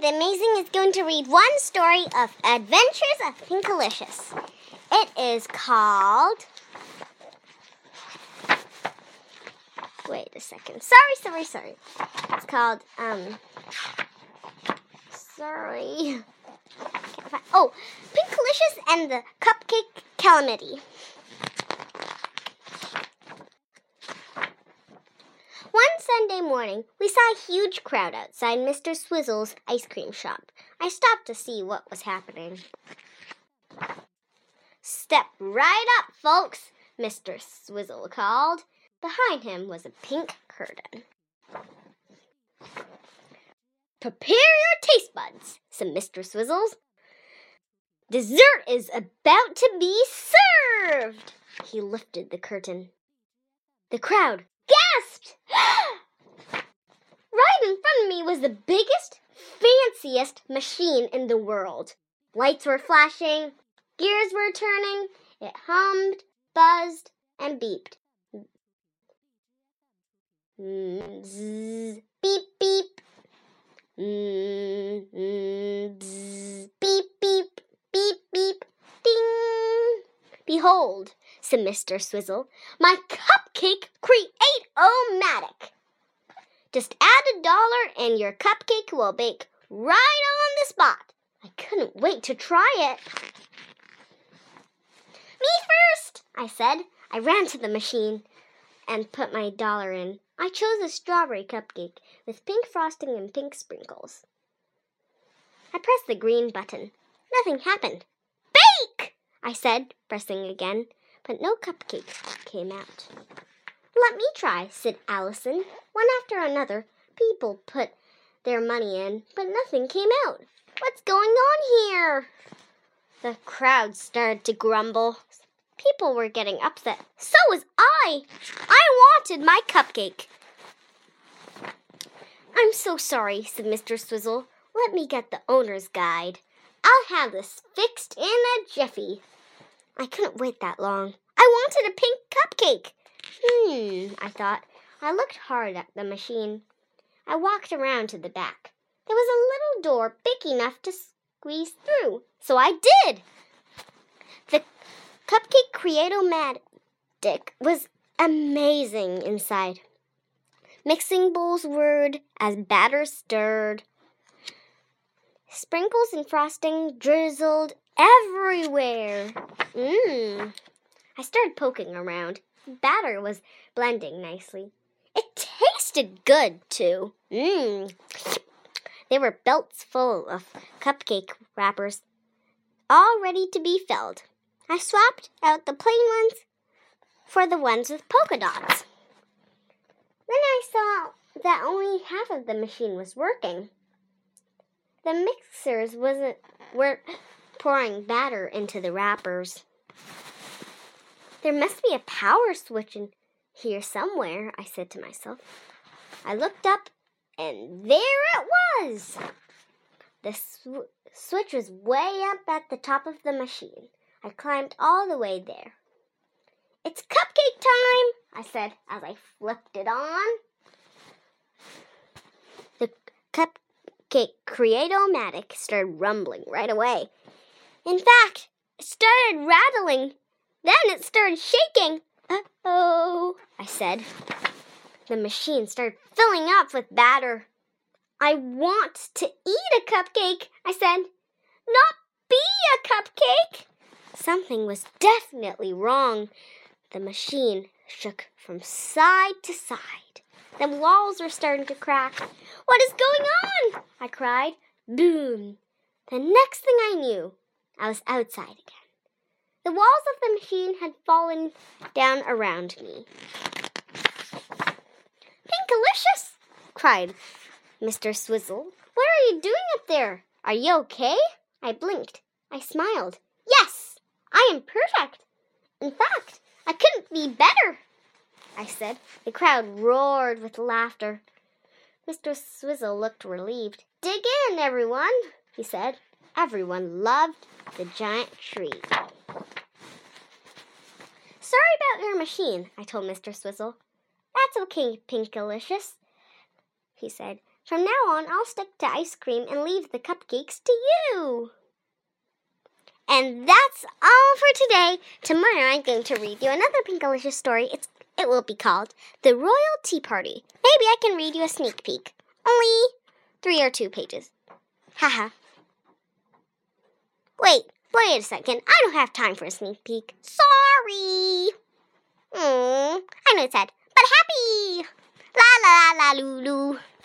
the Amazing is going to read one story of Adventures of Pinkalicious. It is called... Wait a second. Sorry. It's called, Pinkalicious and the Cupcake Calamity. One Sunday morning, we saw a huge crowd outside Mr. Swizzle's ice cream shop. I stopped to see what was happening. "Step right up, folks," Mr. Swizzle called. Behind him was a pink curtain. "Prepare your taste buds," said Mr. Swizzle. "Dessert is about to be served." He lifted the curtain. The crowd gasped! Right in front of me was the biggest, fanciest machine in the world. Lights were flashing, gears were turning, it hummed, buzzed, and beeped. Bzz, beep, beep. Bzz, beep, beep, beep, beep, ding. "Behold," said Mr. Swizzle, "my cupcake create-o-matic. Just add $1 and your cupcake will bake right on the spot." I couldn't wait to try it. "Me first," I said. I ran to the machine and put my $1 in. I chose a strawberry cupcake with pink frosting and pink sprinkles. I pressed the green button. Nothing happened. "Bake!" I said, pressing again, but no cupcake came out. "Let me try," said Allison. One after another, people put their money in, but nothing came out. "What's going on here?" The crowd started to grumble. People were getting upset. So was I. I wanted my cupcake. "I'm so sorry," said Mr. Swizzle. "Let me get the owner's guide. I'll have this fixed in a jiffy." I couldn't wait that long. I wanted a pink cupcake. I thought. I looked hard at the machine. I walked around to the back. There was a little door big enough to squeeze through, so I did. The Cupcake Create-o-matic was amazing inside. Mixing bowls whirred as batter stirred. Sprinkles and frosting drizzled everywhere. I started poking around. Batter was blending nicely. It tasted good, too. There were belts full of cupcake wrappers, all ready to be filled. I swapped out the plain ones for the ones with polka dots. Then I saw that only half of the machine was working. The mixers weren't pouring batter into the wrappers. There must be a power switch in here somewhere, I said to myself. I looked up, and there it was. The switch was way up at the top of the machine. I climbed all the way there. "It's cupcake time," I said as I flipped it on. The Cupcake Create-o-matic started rumbling right away. In fact, it started rattling. Then it started shaking. "Uh-oh," I said. The machine started filling up with batter. "I want to eat a cupcake," I said. "Not be a cupcake." Something was definitely wrong. The machine shook from side to side. The walls were starting to crack. "What is going on?" I cried. Boom! The next thing I knew, I was outside again. The walls of the machine had fallen down around me. "Pinkalicious!" cried Mr. Swizzle. "What are you doing up there? Are you okay?" I blinked. I smiled. "Yes, I am perfect. In fact, I couldn't be better," I said. The crowd roared with laughter. Mr. Swizzle looked relieved. "Dig in, everyone," he said. Everyone loved the giant tree. "Sorry about your machine," I told Mr. Swizzle. "That's okay, Pinkalicious," he said. From now on, I'll stick to ice cream and leave the cupcakes to you. And that's all for today. Tomorrow I'm going to read you another Pinkalicious story. It will be called The Royal Tea Party. Maybe I can read you a sneak peek. Only 3 or 2 pages. Haha. Wait a second. I don't have time for a sneak peek. Sorry. I know it's sad, but happy. La la la Lulu.